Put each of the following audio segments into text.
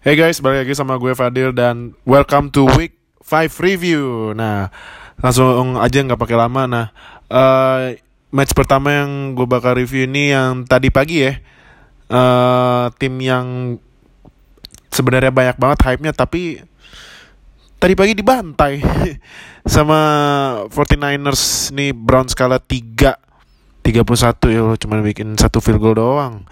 Hey guys, balik lagi sama gue Fadil dan welcome to week 5 review. Nah, langsung aja nggak pakai lama. Nah, match pertama yang gue bakal review ini yang tadi pagi ya. Tim yang sebenarnya banyak banget hype-nya tapi tadi pagi dibantai sama 49ers nih. Browns kalah 31 ya, cuma bikin satu field goal doang.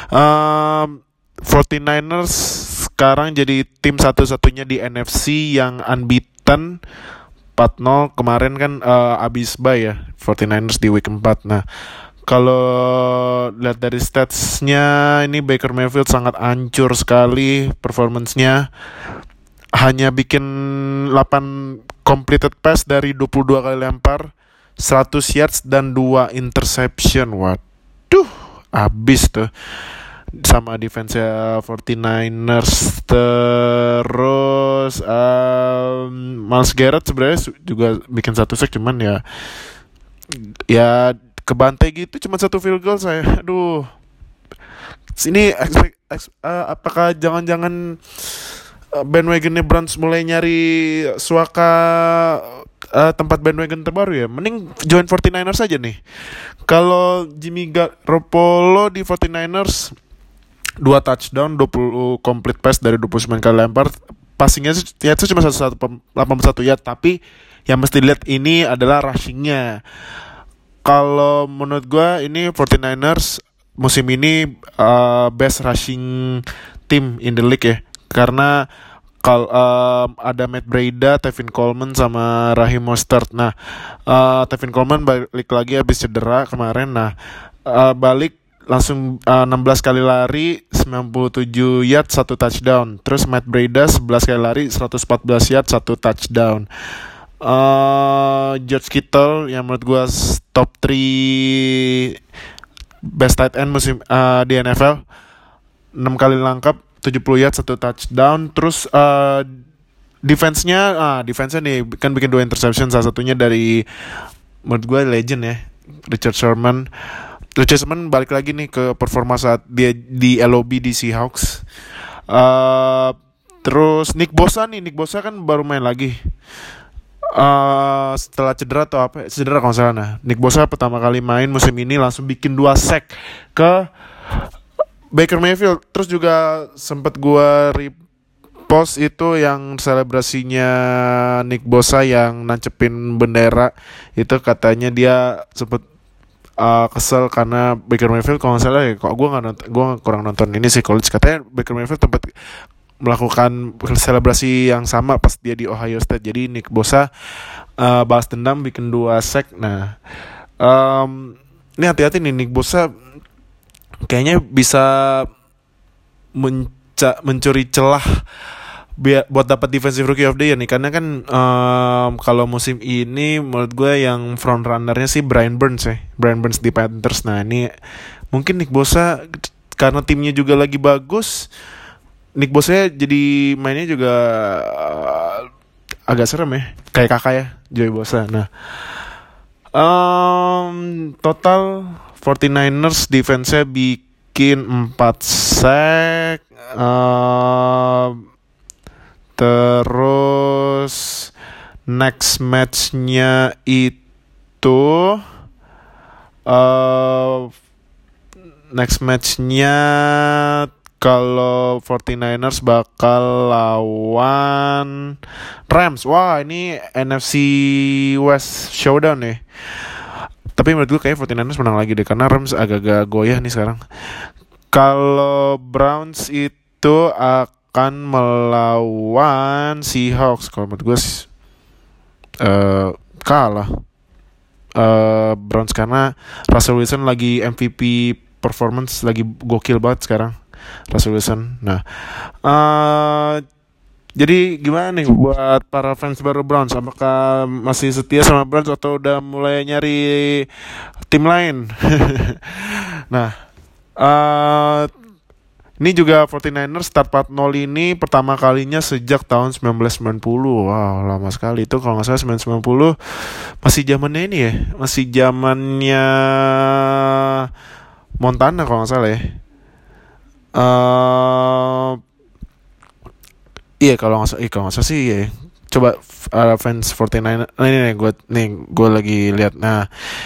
49ers sekarang jadi tim satu-satunya di NFC yang unbeaten 4-0. Kemarin kan abis bye ya 49ers di week 4. Nah, kalau lihat dari statsnya ini Baker Mayfield sangat hancur sekali performance-nya. Hanya bikin 8 completed pass dari 22 kali lempar, 100 yards dan 2 interception. Waduh, abis tuh sama defense 49ers. Terus Myles Garrett sebenarnya juga bikin satu sack, cuman ya kebantai gitu, cuma satu field goal. Saya aduh, sini apakah jangan-jangan bandwagonnya Browns mulai nyari suaka tempat bandwagon terbaru ya? Mending join 49ers aja nih. Kalau Jimmy Garoppolo di 49ers 2 touchdown, 20 complete pass dari 29 kali lempar. Passingnya itu cuma 81 yard, tapi yang mesti dilihat ini adalah rushingnya. Kalau menurut gue ini 49ers musim ini best rushing team in the league ya. Karena kalau ada Matt Breida, Tevin Coleman sama Raheem Mostert. Nah, Tevin Coleman balik lagi habis cedera kemarin. Nah, balik langsung 16 kali lari, 97 yard, 1 touchdown. Terus Matt Breida 11 kali lari, 114 yard, 1 touchdown. George Kittle yang menurut gue top 3 best tight end musim di NFL, 6 kali langkap, 70 yard, 1 touchdown. Terus defense-nya nih kan bikin 2 interception, salah satunya dari menurut gue legend ya, Richard Sherman balik lagi nih ke performa saat dia di LOB di Seahawks. Terus Nick Bosa kan baru main lagi setelah cedera atau apa, cedera kalau salah. Nah, Nick Bosa pertama kali main musim ini langsung bikin 2 sack ke Baker Mayfield. Terus juga sempat gua repost itu yang selebrasinya Nick Bosa yang nancepin bendera itu, katanya dia sempat kesel karena Baker Mayfield kalau nggak salah ya, kok gue kurang nonton ini sih college, katanya Baker Mayfield tempat melakukan selebrasi yang sama pas dia di Ohio State. Jadi Nick Bosa balas dendam bikin 2 sack. Nah, ini hati-hati nih, Nick Bosa kayaknya bisa mencuri celah buat dapat Defensive Rookie of the Year nih, karena kan kalau musim ini menurut gue yang front runnernya sih Brian Burns di Panthers. Nah, ini mungkin Nick Bosa karena timnya juga lagi bagus, Nick Bosa jadi mainnya juga agak serem ya, kayak kakak ya, Joey Bosa. Nah, total 49ers defense-nya bikin 4 sack. Terus next match-nya itu kalau 49ers bakal lawan Rams. Wah, ini NFC West showdown nih. Tapi menurut gue kayak 49ers menang lagi deh, karena Rams agak-agak goyah nih sekarang. Kalau Browns itu akan melawan Seahawks. Kalau menurut gue kalah Browns, karena Russell Wilson lagi MVP performance, lagi gokil banget sekarang Russell Wilson. Nah, jadi gimana nih buat para fans baru Browns? Apakah masih setia sama Browns atau udah mulai nyari tim lain? Nah, ini juga 49ers start 4-0 ini pertama kalinya sejak tahun 1990. Wow, lama sekali itu. Kalau nggak salah 1990 masih zamannya ini ya, masih zamannya Montana kalau nggak salah ya. Iya kalau nggak salah sih iya. Coba fans 49 gue lagi lihat. Nah,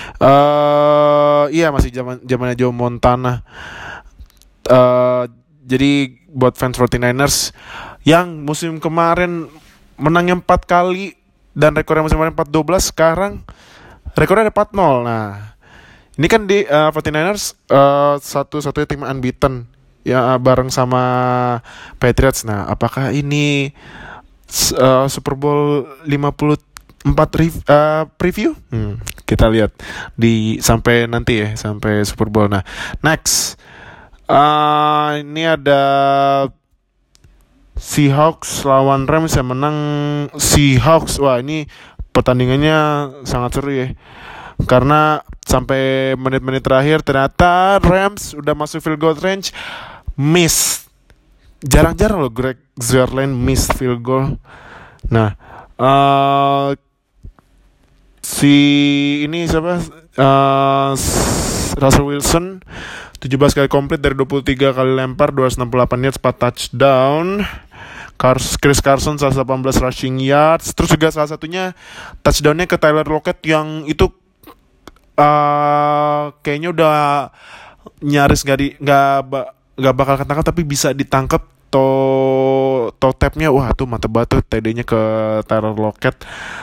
iya masih zamannya Joe Montana. eh jadi buat fans 49ers yang musim kemarin menangnya 4 kali dan rekornya musim kemarin 4-12, sekarang rekornya ada 4-0. Nah, ini kan di 49ers satu-satunya tim unbeaten ya bareng sama Patriots. Nah, apakah ini Super Bowl 54 preview? Kita lihat di sampai nanti ya, sampai Super Bowl. Nah, next. Ini ada Seahawks lawan Rams yang menang Seahawks. Wah, ini pertandingannya sangat seru ya. Karena sampai menit-menit terakhir ternyata Rams udah masuk field goal range, miss. Jarang-jarang loh Greg Zuerlein miss field goal. Nah, si ini siapa? Russell Wilson 17 kali komplit dari 23 kali lempar, 268 yards, 4 touchdown. Chris Carson 118 rushing yards. Terus juga salah satunya touchdownnya ke Tyler Lockett yang itu kayaknya udah nyaris nggak bakal ketangkap, tapi bisa ditangkap. Toe tapnya, wah tuh mantep banget tuh TD-nya ke Tyler Lockett.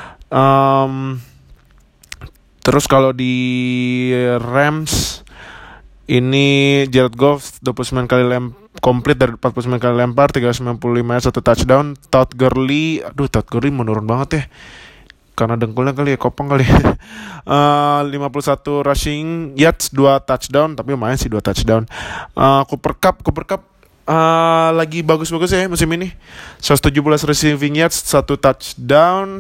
Terus kalau di Rams ini Jared Goff 29 kali komplit dari 49 kali lempar, 395 yards, 1 touchdown. Todd Gurley menurun banget ya. Karena dengkulnya kali ya, kopong kali ya. 51 rushing yards, 2 touchdown, tapi lumayan sih 2 touchdown. Cooper Cup lagi bagus-bagus ya musim ini. 117 receiving yards, 1 touchdown.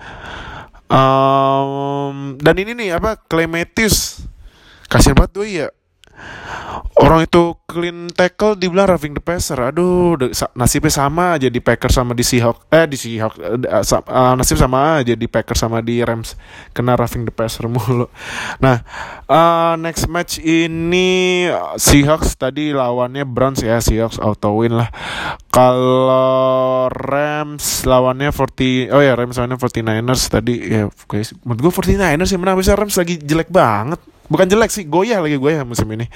Dan ini nih Clay Matthews. Kasian banget tuh ya. Orang itu clean tackle dibilang roughing the passer. Aduh, nasibnya sama aja di Packers sama di Seahawks. Nasib sama aja di Packers sama di Rams, kena roughing the passer mulu. Nah, next match ini Seahawks tadi lawannya Browns ya. Seahawks auto win lah. Kalau Rams lawannya Rams lawannya 49ers tadi ya. Guys, menurut gue 49ers yang menang. Bisa Rams lagi jelek banget. Bukan jelek sih, goyah musim ini.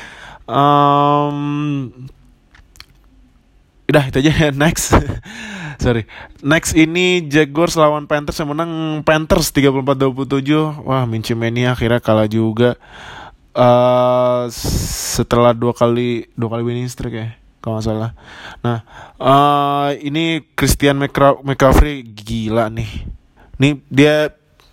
Udah itu aja. Next. Sorry. Next ini Jaguars lawan Panthers yang menang Panthers 34-27. Wah, Minshew Mania akhirnya kalah juga. Setelah dua kali winning streak ya, kalau nggak salah. Nah, ini Christian McCaffrey gila nih. Nih dia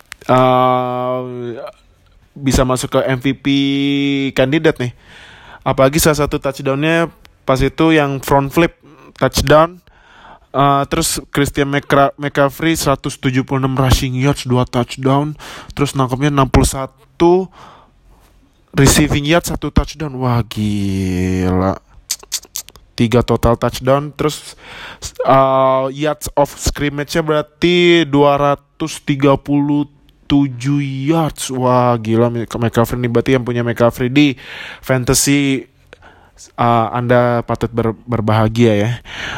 bisa masuk ke MVP kandidat nih. Apalagi salah satu touchdownnya pas itu yang front flip touchdown. Terus Christian McCaffrey 176 rushing yards, 2 touchdown. Terus nangkepnya 61 receiving yards, 1 touchdown. Wah gila, 3 total touchdown. Terus yards of scrimmage-nya berarti 237 yards. Wah gila, McCaffrey nih berarti yang punya McCaffrey di fantasy, Anda patut berbahagia ya.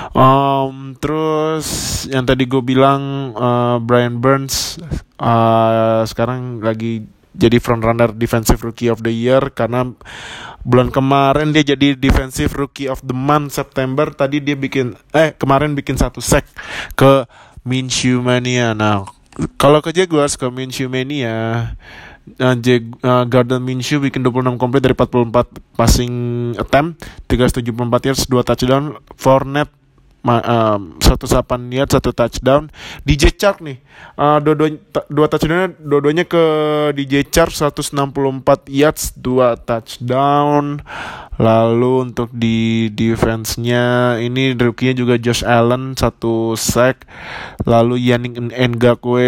Terus yang tadi gue bilang Brian Burns sekarang lagi jadi frontrunner Defensive Rookie of the Year karena bulan kemarin dia jadi Defensive Rookie of the Month September. Tadi dia kemarin bikin 1 sack ke Minshew Mania. Nah, kalau ke Jaguars, ke Minshew Mania, Gardner Minshew bikin 26 komplit dari 44 passing attempt, 374 yards, 2 touchdown. Fournette 108 yards, 1 touchdown. DJ Chark nih, dua touchdownnya dua-duanya ke DJ Chark, 164 yards, 2 touchdown. Lalu untuk di defense-nya ini rookie-nya juga Josh Allen 1 sack. Lalu Yannick Ngakoue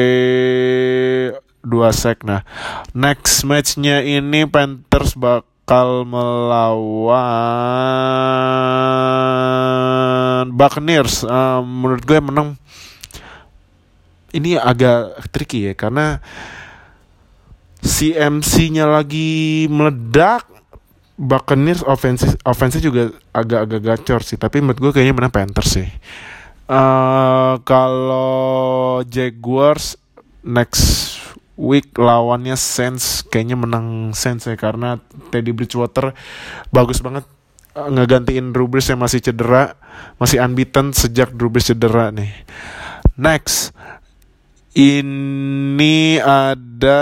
2 sack. Nah, next match-nya ini Panthers bakal melawan Buccaneers. Menurut gue menang ini agak tricky ya, karena CMC-nya lagi meledak. Buccaneers offense juga agak-agak gacor sih, tapi menurut gue kayaknya menang Panthers sih. Kalau Jaguars next week lawannya Saints, kayaknya menang Saints ya, karena Teddy Bridgewater bagus banget ngegantiin Drew Brees yang masih cedera, masih unbeaten sejak Drew Brees cedera nih. Next, ini ada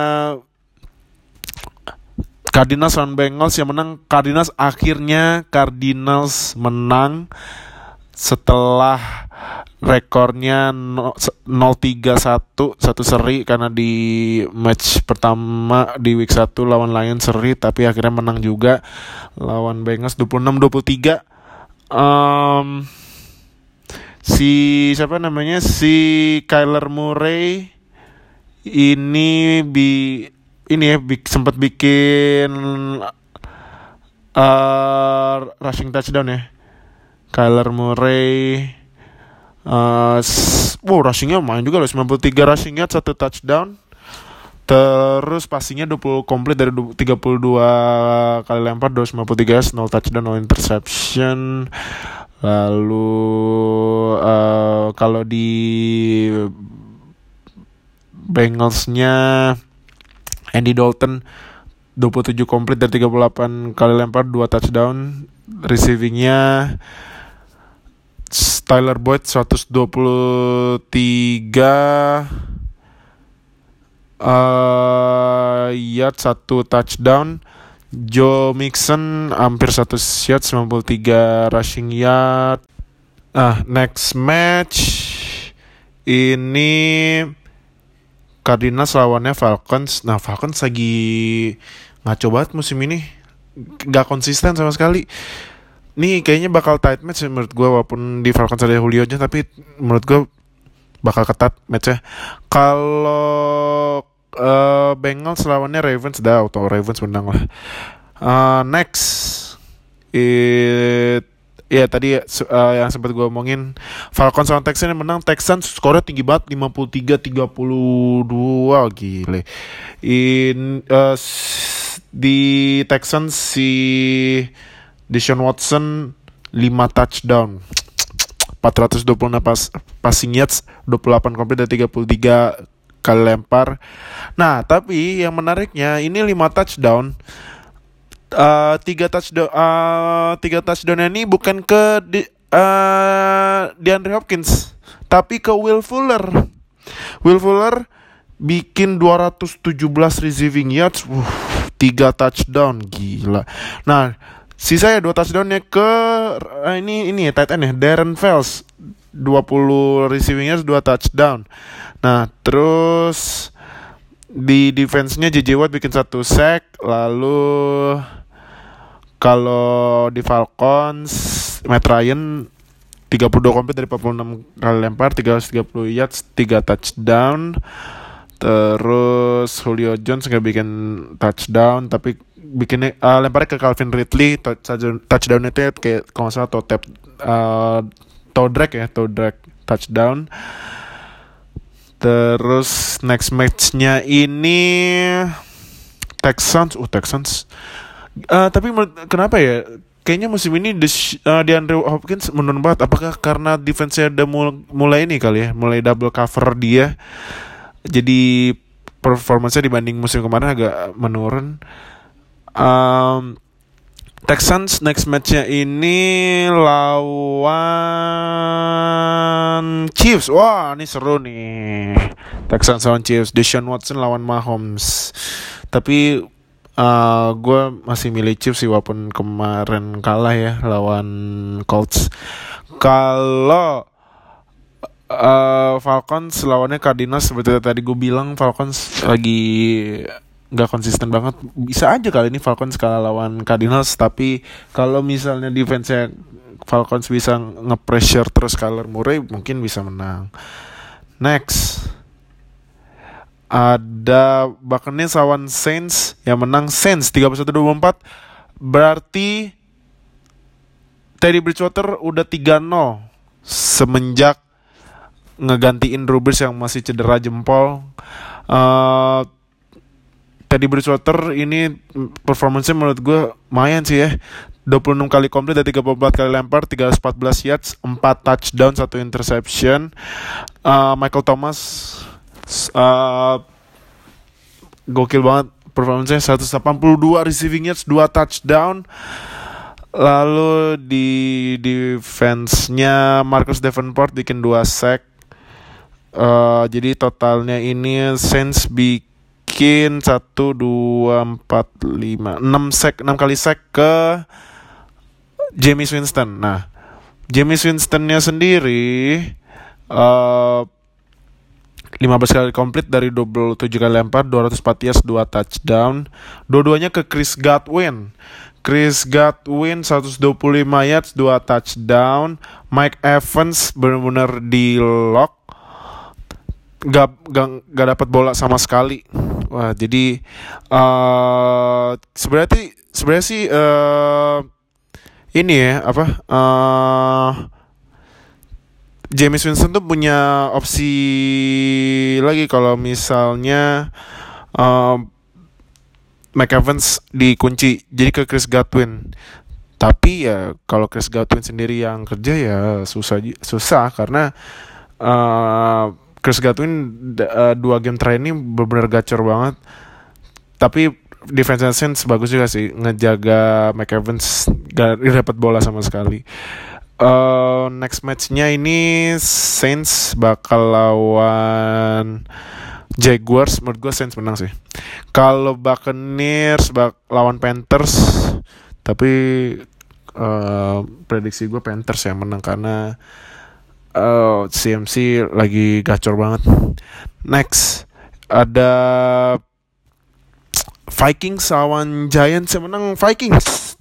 Cardinals lawan Bengals yang menang. Cardinals menang setelah rekornya 0-3-1 satu seri, karena di match pertama di week 1 lawan Lions seri, tapi akhirnya menang juga lawan Bengals 26-23. Si Kyler Murray ini sempat bikin rushing touchdown ya. Kyler Murray rushingnya main juga loh, 93 rushing yard, 1 touchdown. Terus passingnya 20 komplit dari 32 kali lempar, 253 0 touchdown, 0 interception. Lalu kalau di Bengalsnya Andy Dalton 27 komplit dari 38 kali lempar, 2 touchdown. Receivingnya Tyler Boyd 123 yard, 1 touchdown. Joe Mixon hampir 1 yard, 93 rushing yard. Next match ini Cardinals lawannya Falcons. Nah, Falcons lagi ngaco banget musim ini, gak konsisten sama sekali. Nih kayaknya bakal tight match menurut gue, walaupun di Falcons ada Julio Jones, tapi menurut gue bakal ketat matchnya. Kalau Bengals lawannya Ravens, atau Ravens menang lah. Next, tadi yang sempat gue omongin, Falcons lawan Texans yang menang. Texans skornya tinggi banget, 53-32, gile. Di Texans si Deshaun Watson 5 touchdown, 426 passing yards, 28 komplit dan 33 kali lempar. Nah, tapi yang menariknya ini 5 touchdown, 3 touchdown ini bukan ke DeAndre Hopkins, tapi ke Will Fuller. Will Fuller bikin 217 receiving yards, 3 touchdown, gila. Nah, sisanya 2 touchdownnya ke ini tight end ya, Darren Fells, 20 receiving yards, 2 touchdown. Nah, terus di defense-nya JJ Watt bikin 1 sack. Lalu kalau di Falcons, Matt Ryan 32 komplit dari 46 kali lempar, 330 yards, 3 touchdown. Terus Julio Jones gak bikin touchdown, tapi bikinnya lemparnya ke Calvin Ridley. Touchdown itu kayak kalau nggak salah toe drag touchdown. Terus next matchnya ini Texans. Tapi kenapa ya? Kayaknya musim ini DeAndre Hopkins menurun banget. Apakah karena defense-nya udah mulai ini kali ya, mulai double cover dia, jadi performance-nya dibanding musim kemarin agak menurun. Texans next match-nya ini lawan Chiefs. Wah, ini seru nih. Texans lawan Chiefs. Deshaun Watson lawan Mahomes. Tapi gue masih milih Chiefs sih, walaupun kemarin kalah ya lawan Colts. Kalau Falcons lawannya Cardinals, seperti tadi gue bilang, Falcons lagi gak konsisten banget. Bisa aja kali ini Falcons kalah lawan Cardinals, tapi kalau misalnya defense-nya Falcons bisa nge-pressure terus Kyler Murray, mungkin bisa menang. Next, ada Buccaneers lawan Saints yang menang Saints 31-24. Berarti Teddy Bridgewater udah 3-0 semenjak ngegantiin Drew Brees yang masih cedera jempol. Teddy Bridgewater ini performance-nya menurut gue lumayan sih ya. 26 kali komplit dari 34 kali lempar, 314 yards, 4 touchdown, 1 interception. Michael Thomas gokil banget performance-nya, 182 receiving yards, 2 touchdown. Lalu di defense-nya Marcus Davenport bikin 2 sack. Jadi totalnya ini Saints bikin 1, 2, 4, 5, 6 kali sack ke Jameis Winston. Nah, Jameis Winstonnya sendiri 15 kali komplit dari 27 kali lempar, 204 yards, 2 touchdown. Dua-duanya ke Chris Godwin. Chris Godwin 125 yards, 2 touchdown. Mike Evans benar-benar di lock, gak dapat bola sama sekali. Wah, jadi sebenarnya sih ini ya Jameis Winston tuh punya opsi lagi kalau misalnya Mike Evans dikunci, jadi ke Chris Godwin. Tapi ya kalau Chris Godwin sendiri yang kerja ya susah karena Chris Godwin 2 game terakhir ini benar-benar gacor banget. Tapi defense Saints bagus juga sih, ngejaga Mike Evans gak dapat bola sama sekali. Next match-nya ini Saints bakal lawan Jaguars. Menurut gue Saints menang sih. Kalau Buccaneers lawan Panthers, tapi prediksi gue Panthers yang menang karena CMC lagi gacor banget. Next ada Vikings lawan Giants, yang menang Vikings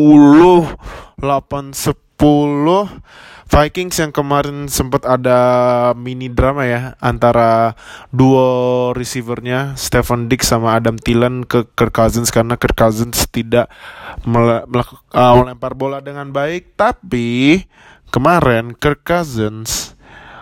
28-10. Vikings yang kemarin sempat ada mini drama ya antara duo receivernya Stefon Diggs sama Adam Thielen ke Kirk Cousins karena Kirk Cousins tidak melempar bola dengan baik. Tapi kemarin Kirk Cousins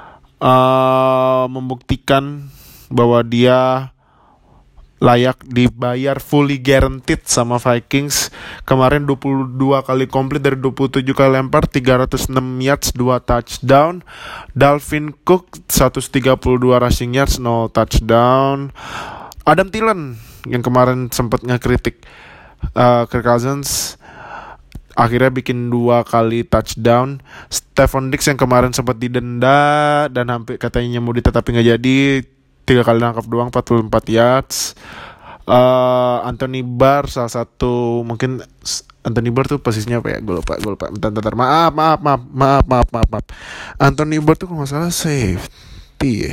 membuktikan bahwa dia layak dibayar fully guaranteed sama Vikings. Kemarin 22 kali komplit dari 27 kali lempar, 306 yards, 2 touchdown. Dalvin Cook 132 rushing yards, no touchdown. Adam Thielen yang kemarin sempat ngekritik Kirk Cousins akhirnya bikin 2 kali touchdown. Stefon Diggs yang kemarin sempat didenda dan hampir katanya mau ditetapi gak jadi, 3 kali nangkap doang, 44 yards. Anthony Barr salah satu, mungkin Anthony Barr tuh posisinya apa ya? Gue lupa. Bentar. Maaf. Anthony Barr tuh kalau nggak salah safety ya.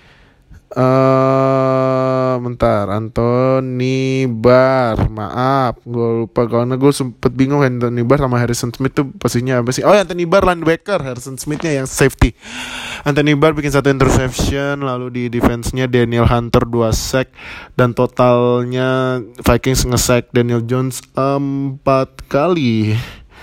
Bentar, Anthony Barr, maaf, gue lupa karena gue sempet bingung Anthony Barr sama Harrison Smith tuh posisinya apa sih? Oh, Anthony Barr linebacker, Harrison Smithnya yang safety. Anthony Barr bikin 1 interception, lalu di defense-nya Daniel Hunter 2 sack, dan totalnya Vikings nge-sack Daniel Jones 4 kali.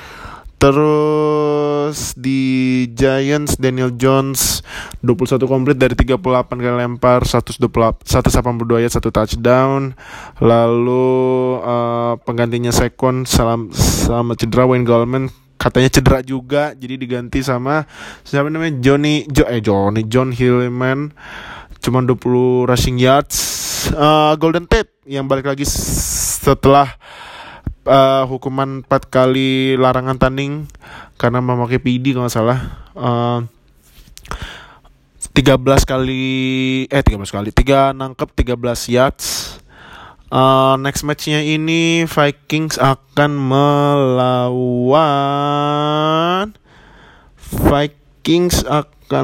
Terus di Giants Daniel Jones 21 komplit dari 38 kali lempar, 182 ya, 1 touchdown. Lalu penggantinya Saquon sama cedera, Wayne Gallman katanya cedera juga, jadi diganti sama siapa namanya John Hillman, cuma 20 rushing yards. Golden Tate yang balik lagi setelah hukuman 4 kali larangan tanding karena memakai PD kalau nggak salah. 3 nangkep 13 yards. Next matchnya ini Vikings akan melawan Vikings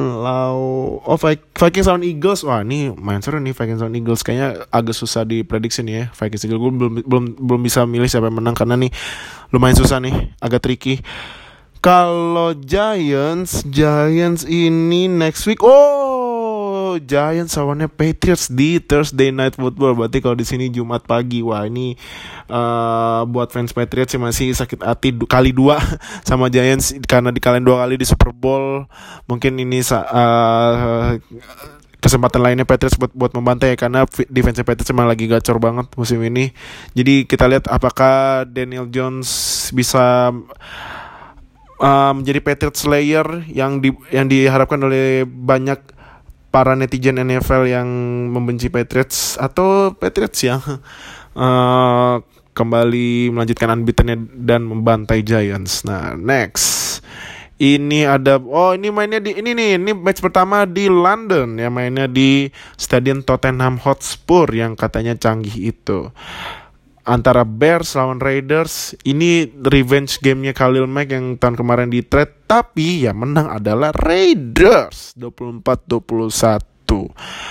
lawan Eagles. Wah, ini main seru nih, Vikings lawan Eagles. Kayaknya agak susah diprediksi nih ya, Vikings Eagles. Gue belum bisa milih siapa yang menang karena nih lumayan susah nih, agak tricky. Kalau Giants ini next week. Giants lawannya Patriots di Thursday Night Football. Berarti kalau di sini Jumat pagi. Wah, ini buat fans Patriots sih masih sakit hati kali 2 sama Giants karena dikalahin 2 kali di Super Bowl. Mungkin ini kesempatan lainnya Patriots buat membantai ya, karena defense Patriots emang lagi gacor banget musim ini. Jadi kita lihat apakah Daniel Jones bisa menjadi Patriots Slayer yang diharapkan oleh banyak para netizen NFL yang membenci Patriots, atau Patriots yang kembali melanjutkan unbeaten-nya dan membantai Giants. Nah, next. Ini match pertama di London ya, mainnya di Stadion Tottenham Hotspur yang katanya canggih itu. Antara Bears lawan Raiders. Ini revenge game-nya Khalil Mack yang tahun kemarin di trade, tapi ya menang adalah Raiders 24-21.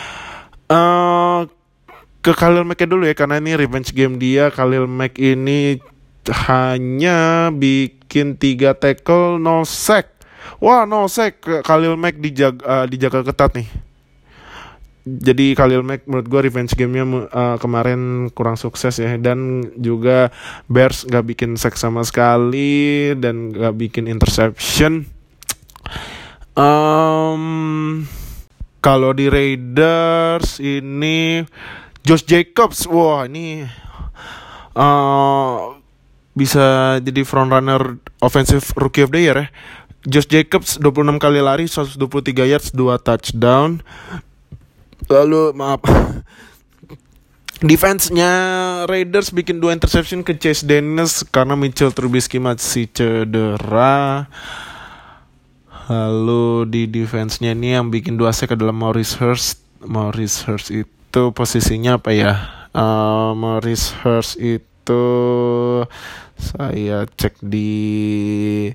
Ke Khalil Mack dulu ya, karena ini revenge game dia. Khalil Mack ini hanya bikin 3 tackle, no sack. Wah, no sack. Khalil Mack dijaga ketat nih. Jadi Khalil Mack menurut gue revenge game-nya kemarin kurang sukses ya. Dan juga Bears gak bikin sack sama sekali dan gak bikin interception. Kalau di Raiders ini Josh Jacobs, wah ini bisa jadi frontrunner offensive rookie of the year ya. Josh Jacobs 26 kali lari, 123 yards, 2 touchdown. Lalu defense-nya Raiders bikin 2 interception ke Chase Daniels karena Mitchell Trubisky masih cedera. Lalu di defense-nya ini yang bikin 2 sack adalah Maurice Hurst. Maurice Hurst itu posisinya apa ya? Maurice Hurst itu saya cek di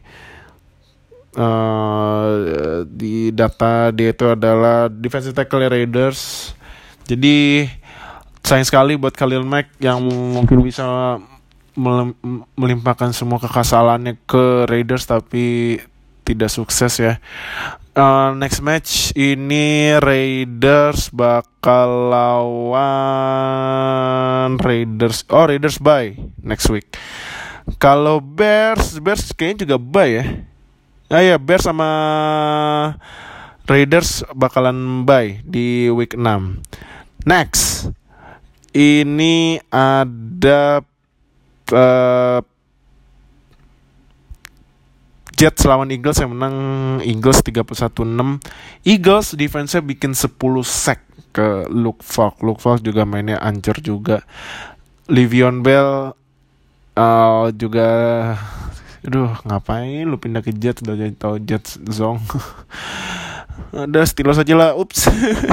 data, dia itu adalah defensive tackle Raiders. Jadi sayang sekali buat Khalil Mack yang mungkin bisa melimpahkan semua kekesalannya ke Raiders, tapi tidak sukses ya. Next match ini Raiders bakal lawan Raiders bye next week. Kalau Bears kayaknya juga bye ya. Bears sama Raiders bakalan bye di week 6. Next. Ini ada Jets lawan Eagles yang menang Eagles 31-6. Eagles defense-nya bikin 10 sack ke Luke Falk. Luke Falk juga mainnya ancur juga. Le'Veon Bell juga ngapain lu pindah ke Jets, udah jadi tau Jets zong. Ada Steelers aja lah. Ups.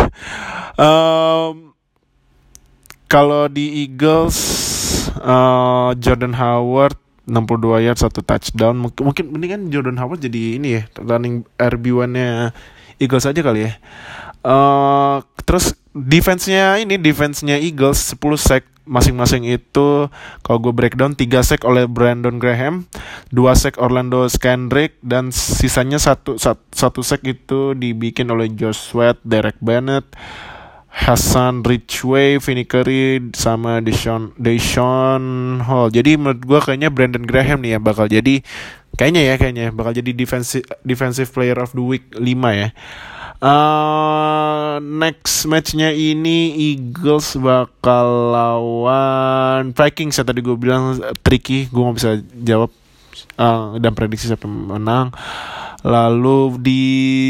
Kalau di Eagles Jordan Howard 62 yards, 1 touchdown. Mungkin mendingan Jordan Howard jadi ini ya, running RB1-nya Eagles aja kali ya. Terus defense-nya Eagles 10 sack masing-masing itu. Kalau gue breakdown, 3 sack oleh Brandon Graham, 2 sack Orlando Scandrick, dan sisanya satu sack itu dibikin oleh Josh Sweat, Derek Bennett, Hassan Ridgeway, Vinny Curry, sama Deshaun Hall. Jadi menurut gue kayaknya Brandon Graham nih ya bakal jadi bakal jadi defensive player of the week 5 ya. Next matchnya ini Eagles bakal lawan Vikings ya, tadi gue bilang tricky, gue gak bisa jawab dan prediksi siapa menang. Lalu di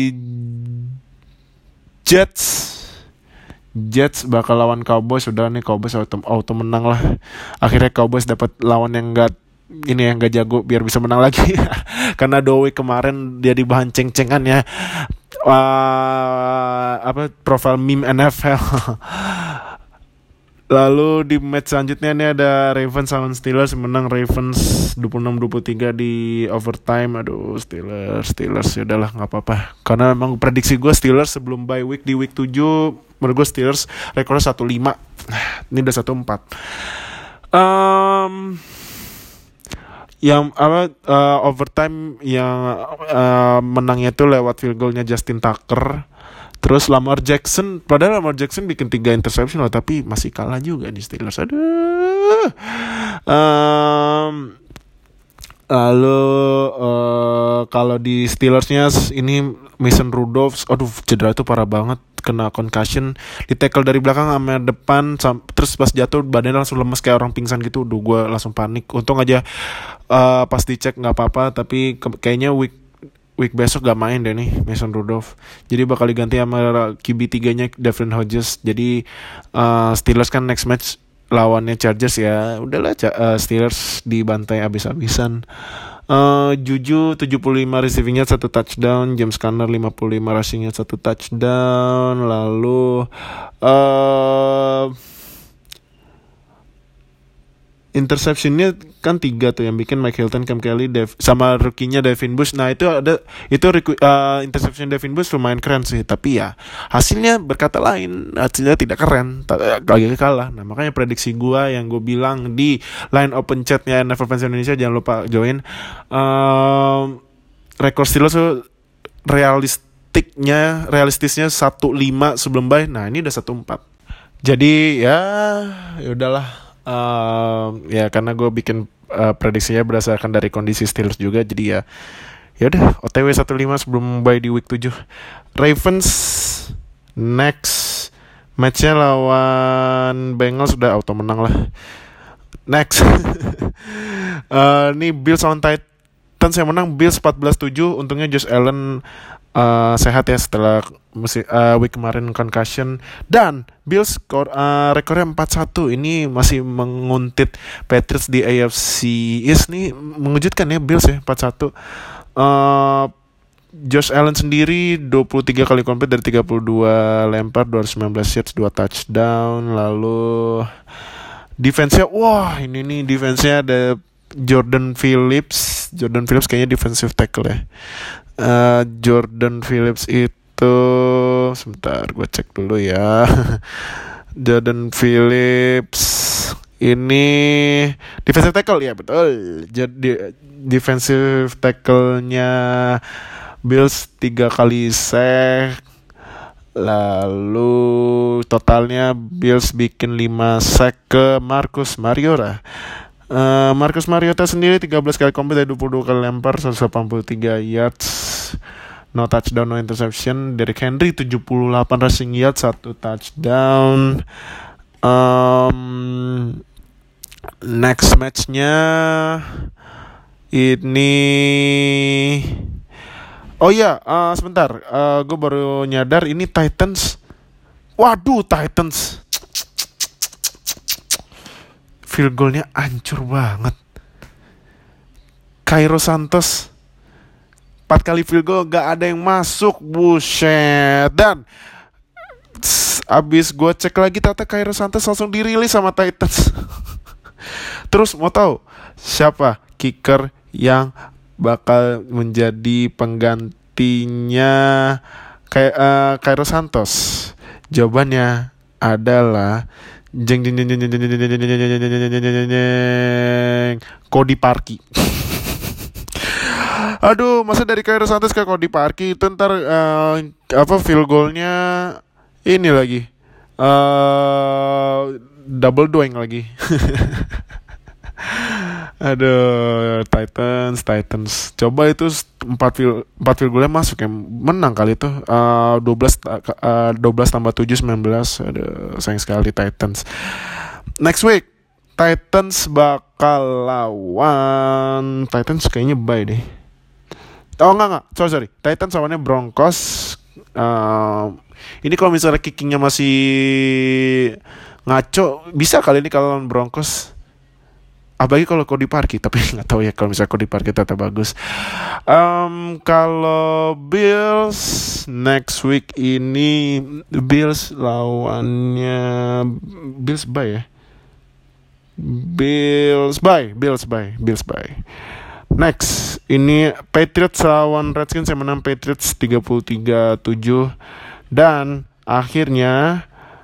Jets bakal lawan Cowboys. Udah nih Cowboys auto menang lah. Akhirnya Cowboys dapat lawan yang gak jago biar bisa menang lagi. Karena Dowie kemarin dia di bahan ceng-cengan ya. Profile meme NFL. Lalu di match selanjutnya ini ada Ravens lawan Steelers, menang Ravens 26-23 di overtime. Aduh, Steelers ya udahlah nggak apa-apa. Karena memang prediksi gue Steelers sebelum bye week di week 7, menurut gue Steelers rekornya 1-5. Ini udah 1-4. Yang overtime yang menangnya itu lewat field goalnya Justin Tucker. Terus Lamar Jackson bikin 3 interception loh, tapi masih kalah juga di Steelers. Aduh. Lalu kalau di Steelersnya ini Mason Rudolph, aduh cedera itu parah banget. kena concussion, di tackle dari belakang sama depan, terus pas jatuh badannya langsung lemes kayak orang pingsan gitu. Duh, gue langsung panik. Untung aja pas dicek nggak apa-apa, tapi kayaknya week besok gak main deh nih Mason Rudolph. Jadi bakal diganti sama QB 3-nya Devin Hodges. Jadi Steelers kan next match lawannya Chargers ya. Udahlah Steelers dibantai abis-abisan. Juju 75 receivingnya 1 touchdown, James Conner 55 rushingnya 1 touchdown. Lalu interceptionnya kan 3 tuh yang bikin Mike Hilton, Cam Kelly, sama rookie-nya Devin Bush. Nah itu interception Devin Bush lumayan keren sih, tapi ya hasilnya berkata lain, hasilnya tidak keren, lagi kalah. Nah makanya prediksi gue yang gue bilang di line open chatnya NFL Fans Indonesia, jangan lupa join. Rekor Steelers tuh realistisnya 1-5 sebelum bye. Nah ini udah 1-4. Jadi ya udahlah. Ya karena gue bikin prediksinya berdasarkan dari kondisi Steelers juga, jadi ya udah OTW 1-5 sebelum bye di week 7. Ravens next matchnya lawan Bengals, udah auto menang lah. Next nih Bills lawan Titans yang menang Bills 14-7. Untungnya Josh Allen sehat ya setelah week kemarin concussion. Dan Bills rekornya 4-1. Ini masih menguntit Patriots di AFC East nih. Mengejutkan ya Bills ya 4-1. Josh Allen sendiri 23 kali compete dari 32 lempar, 219 yards, 2 touchdown. Lalu defense-nya, wah ini nih defense-nya ada Jordan Phillips kayaknya defensive tackle ya. Jordan Phillips itu sebentar gue cek dulu ya. Jordan Phillips ini defensive tackle ya, betul. Jadi defensive tackle-nya Bills 3 kali sack. Lalu totalnya Bills bikin 5 sack ke Marcus Mariota. Marcus Mariota sendiri 13 kali compete dari 22 kali lempar, 183 yards, no touchdown, no interception. Derrick Henry 78 rushing yards, 1 touchdown. Next matchnya ini, oh ya, sebentar, gue baru nyadar ini Titans. Waduh, Titans field goalnya hancur banget. Cairo Santos 4 kali field goal gak ada yang masuk, buset. Dan abis gue cek lagi ternyata Cairo Santos langsung dirilis sama Titans. Terus mau tahu siapa kicker yang bakal menjadi penggantinya Cairo Santos? Jawabannya adalah Cody Parkey. Aduh, masa dari Cairo Santos ke Cody Parkey itu ntar field goalnya ini lagi double doing lagi. Aduh, Titans. Coba itu 4 field goalnya masuk ya, menang kali itu. 12 tambah 7 19. Aduh, sayang sekali Titans. Next week Titans bakal lawan, Titans kayaknya bye deh. Oh enggak, sorry. Titans lawannya Broncos. Ini kalau misalnya kickingnya masih ngaco, bisa kali ini kalau lawan Broncos. Apalagi kalau Cody Parkey, tapi nggak tahu ya kalau misalnya Cody Parkey tetap bagus. Kalau Bills next week ini Bills lawannya Bills bye ya. Bills bye. Next ini Patriots lawan Redskins yang menang Patriots 33-7. Dan akhirnya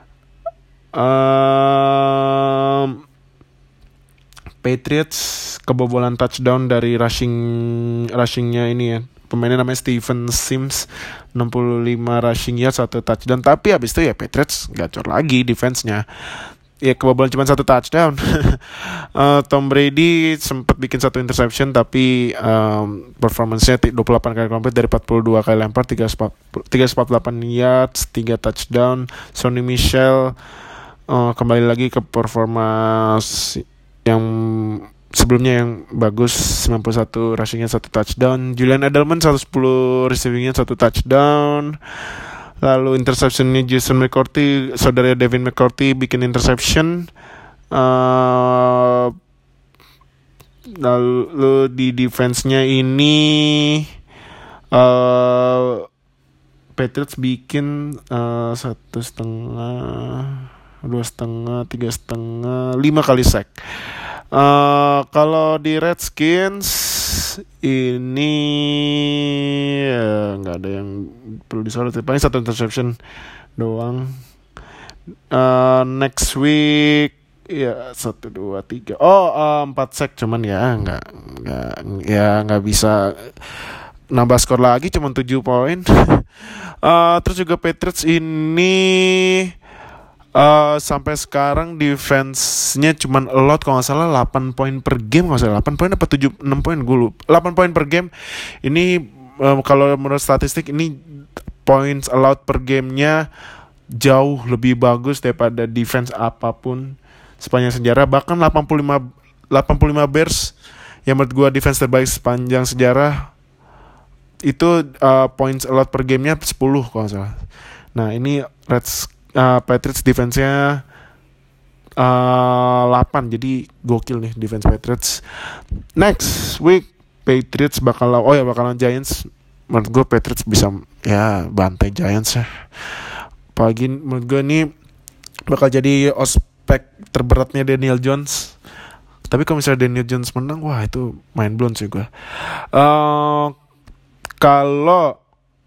Patriots kebobolan touchdown dari rushingnya ini ya. Pemainnya namanya Steven Sims, 65 rushing yards, 1 touchdown. Tapi habis itu ya Patriots gacor lagi defense-nya. ya kebobolan cuma satu touchdown. Tom Brady sempat bikin satu interception tapi performance-nya 28 kali komplit dari 42 kali lempar, 348 yards, 3 touchdown. Sonny Michel kembali lagi ke performa yang sebelumnya yang bagus, 91 rushing-nya, 1 touchdown. Julian Edelman 110 receiving-nya, 1 touchdown. Lalu interception-nya Jason McCourty, saudara Devin McCourty bikin interception. Lalu di defense-nya ini Patriots bikin 1,5, 2,5, 3,5, 5 kali sack. Kalau di Redskins ini nggak ada yang perlu disorot, paling 1 interception doang. Next week ya 1, 2, 3 4 sack, cuman ya nggak bisa nambah skor lagi, cuma 7 poin. Terus juga Patriots ini sampai sekarang defense-nya cuman allowed kalau nggak salah 8 poin per game, nggak salah 8 poin apa 6 poin, gue lupa. 8 poin per game. Ini kalau menurut statistik ini points allowed per gamenya jauh lebih bagus daripada defense apapun sepanjang sejarah. Bahkan 85 Bears yang menurut gue defense terbaik sepanjang sejarah itu points allowed per gamenya 10 kalau nggak salah. Nah ini Patriots defense-nya 8, jadi gokil nih defense Patriots. Next week Patriots bakalan Giants. Menurut gue Patriots bisa ya bantai Giants ya. Apalagi menurut gue ini bakal jadi ospek terberatnya Daniel Jones. Tapi kalau misalnya Daniel Jones menang, wah itu mind blown sih gue. Kalau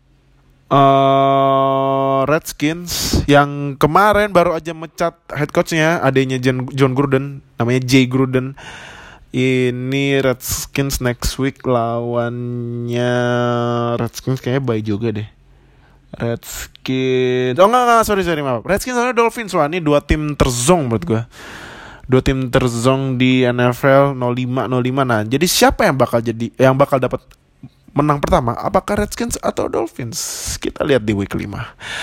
Redskins yang kemarin baru aja mecat head coachnya, adanya John Gruden, namanya Jay Gruden. Ini Redskins next week lawannya Redskins kayaknya bye juga deh. Redskins sorry maaf. Redskins lawannya Dolphins. Wah ini 2 tim terzong menurut gue. 2 tim terzong di NFL 05. Nah jadi siapa yang bakal dapat menang pertama, apakah Redskins atau Dolphins? Kita lihat di week 5.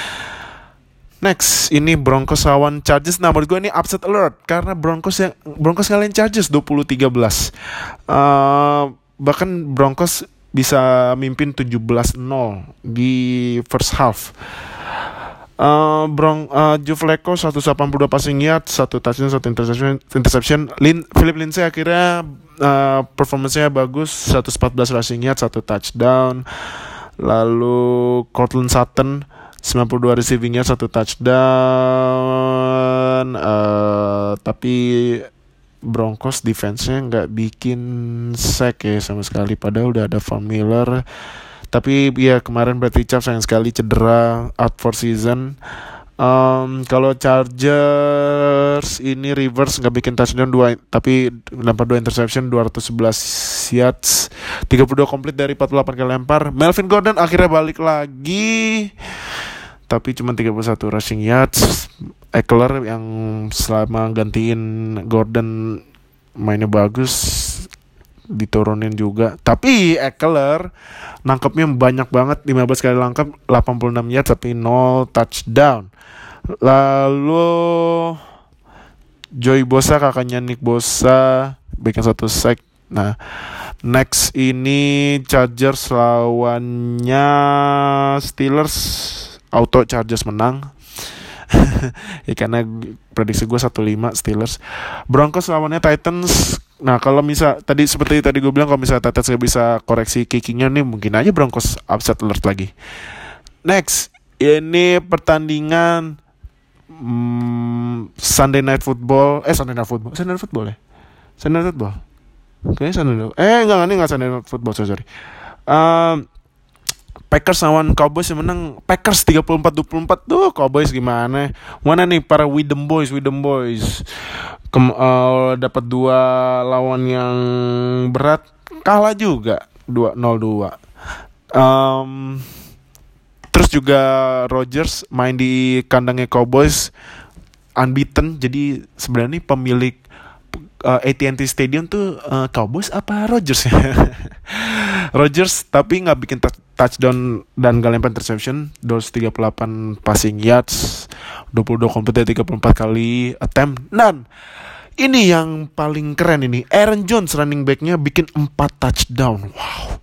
Next, ini Broncos lawan Chargers. Nah, menurut gue ini upset alert karena Broncos ngalahin Chargers 20-13. Bahkan Broncos bisa mimpin 17-0 di first half. Joe Flacco 182 passing yard, 1 touchdown, 1 interception. Philip Lindsay akhirnya performance-nya bagus, 114 rushing yard, 1 touchdown. Lalu Courtland Sutton 92 receiving yard, 1 touchdown. Tapi Broncos defense-nya nggak bikin sack ya sama sekali, padahal udah ada Von Miller. Tapi ya kemarin Bradley Chubb sayang sekali cedera, out for season. Kalau Chargers ini Rivers nggak bikin touchdown 2, tapi lempar 2 interception, 211 yards, 32 komplit dari 48 kali lempar. Melvin Gordon akhirnya balik lagi, tapi cuma 31 rushing yards. Eckler yang selama gantiin Gordon mainnya bagus, diturunin juga. Tapi Eckler nangkepnya banyak banget, 15 kali nangkep, 86 yards tapi 0 touchdown. Lalu Joey Bosa, kakaknya Nick Bosa, bikin 1 sack. Nah, next ini Chargers lawannya Steelers. Auto Chargers menang. Ya karena prediksi gue 1-5 Steelers. Broncos lawannya Titans. Nah kalau seperti tadi gue bilang, kalau misalnya Titans gak bisa koreksi kickingnya nih, mungkin aja Broncos upset alert lagi. Next, ini pertandingan Sunday Night Football ya. Sunday Night Football. Kayaknya Sunday Night. Enggak Sunday Night Football, sorry. Packers lawan Cowboys yang menang Packers 34-24. Tuh Cowboys gimana? Mana nih para Widem Boys? Dapat 2 lawan yang berat, kalah juga 2-0-2. Terus juga Rodgers main di kandangnya Cowboys, unbeaten. Jadi sebenarnya pemilik AT&T Stadium tuh Cowboys apa Rodgers ya? Rodgers, tapi nggak bikin touchdown dan nggak lempar interception. 238 passing yards, 22 complete dari 34 kali attempt. Dan ini yang paling keren ini, Aaron Jones running backnya bikin 4 touchdown. Wow.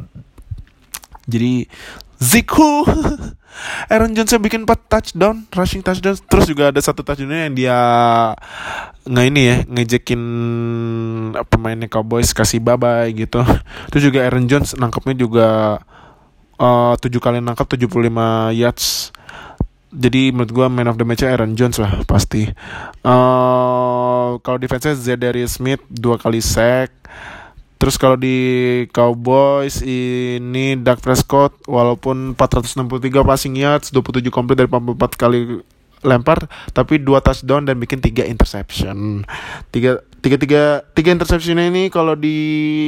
Jadi Zeke Aaron Jones bikin 4 touchdown, rushing touchdown. Terus juga ada satu touchdown yang dia ngejekin pemainnya Cowboys, kasih bye-bye gitu. Itu juga Aaron Jones nangkepnya juga 7 kali nangkap 75 yards. Jadi menurut gue man of the match Aaron Jones lah pasti. Kalau defense-nya Za'Darius Smith 2 kali sack. Terus kalau di Cowboys ini Dak Prescott walaupun 463 passing yards, 27 complete dari 44 kali lempar, tapi 2 touchdown dan bikin 3 interception. 3 interception ini kalau di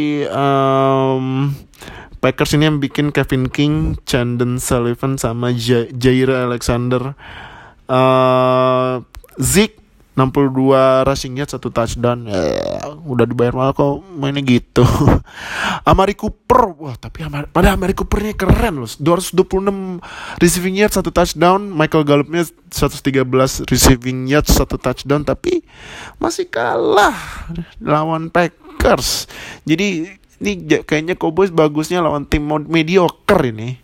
Packers ini yang bikin Kevin King, Chandon Sullivan sama Jair Alexander. Zeke 62 rushing yards, 1 touchdown. Udah dibayar mahal kok mainnya gitu. Amari Cooper, wah tapi pada Amari Coopernya keren loh. 226 receiving yards, 1 touchdown. Michael Gallupnya 113 receiving yards, 1 touchdown, tapi masih kalah lawan Packers. Jadi ini kayaknya Cowboys bagusnya lawan tim mediocre ini.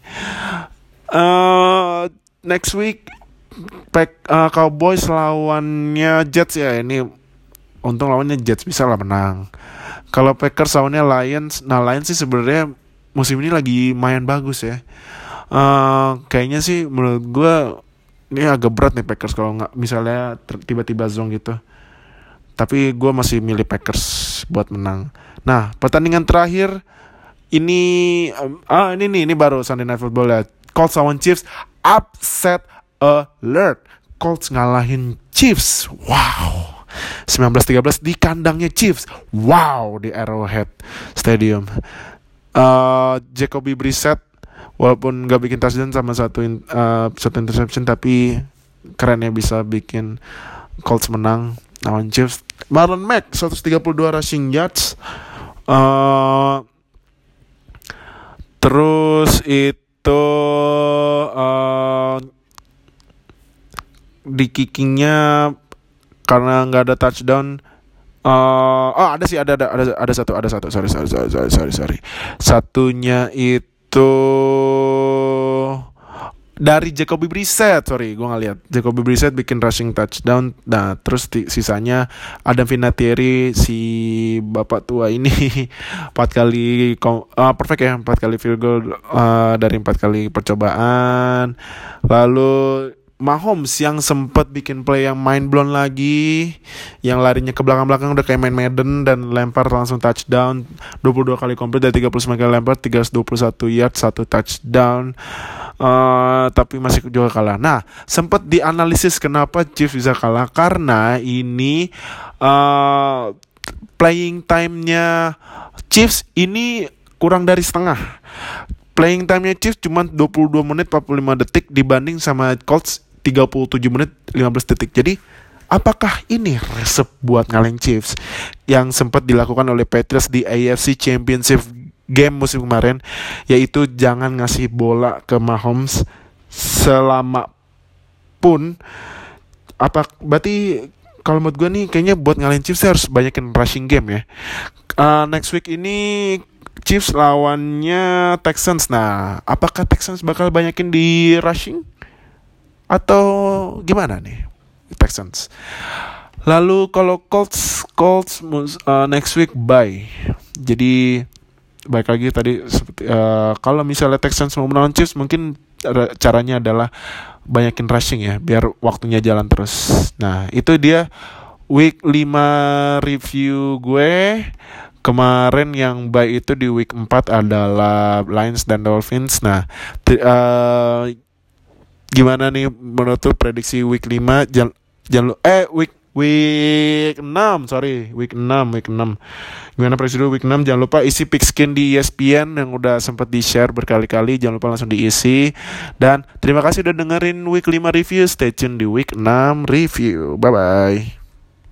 Next week Cowboys lawannya Jets ya. Ini untung lawannya Jets, bisa lah menang. Kalau Packers lawannya Lions. Nah Lions sih sebenarnya musim ini lagi lumayan bagus ya. Kayaknya sih menurut gue ini agak berat nih Packers kalau nggak misalnya tiba-tiba zong gitu. Tapi gue masih milih Packers buat menang. Nah pertandingan terakhir ini ini baru Sunday Night Football ya. Colts lawan Chiefs, upset alert. Colts ngalahin Chiefs. Wow. 19-13 di kandangnya Chiefs. Wow, di Arrowhead Stadium. Jacoby Brissett walaupun gak bikin touchdown sama satu interception, tapi keren ya bisa bikin Colts menang lawan Chiefs. Marlon Mack 132 rushing yards. Terus itu di kickingnya karena nggak ada touchdown. Ada satu. Sorry. Satunya itu dari Jacoby Brissett. Sorry, gue nggak lihat. Jacoby Brissett bikin rushing touchdown. Nah, terus sisanya Adam Vinatieri, si bapak tua ini 4 kali perfect ya, 4 kali field goal dari 4 kali percobaan. Lalu Mahomes yang sempat bikin play yang mind blown lagi, yang larinya ke belakang-belakang udah kayak main Madden dan lempar langsung touchdown. 22 kali complete dari 39 kali lempar, 321 yards, 1 touchdown. Tapi masih juga kalah. Nah, sempat dianalisis kenapa Chiefs bisa kalah, karena ini playing time-nya Chiefs ini kurang dari setengah. Playing time-nya Chiefs cuma 22 menit 45 detik dibanding sama Colts 37 menit 15 detik. Jadi apakah ini resep buat ngalahin Chiefs yang sempat dilakukan oleh Patriots di AFC Championship game musim kemarin, yaitu jangan ngasih bola ke Mahomes selama pun. Berarti kalau menurut gue nih kayaknya buat ngalahin Chiefs harus banyakin rushing game ya. Next week ini Chiefs lawannya Texans. Nah, apakah Texans bakal banyakin di rushing atau gimana nih Texans? Lalu kalau Colts next week bye. Jadi baik lagi tadi seperti kalau misalnya Texans mau melawan Chiefs, mungkin caranya adalah banyakin rushing ya, biar waktunya jalan terus. Nah, itu dia week 5 review gue. Kemarin yang bye itu di week 4 adalah Lions dan Dolphins. Nah, gimana nih menurut prediksi week 5? Week week 6, sorry, week 6. Gimana preview week 6? Jangan lupa isi pickskin di ESPN yang udah sempat di-share berkali-kali. Jangan lupa langsung diisi. Dan terima kasih udah dengerin week 5 review. Stay tune di week 6 review. Bye-bye.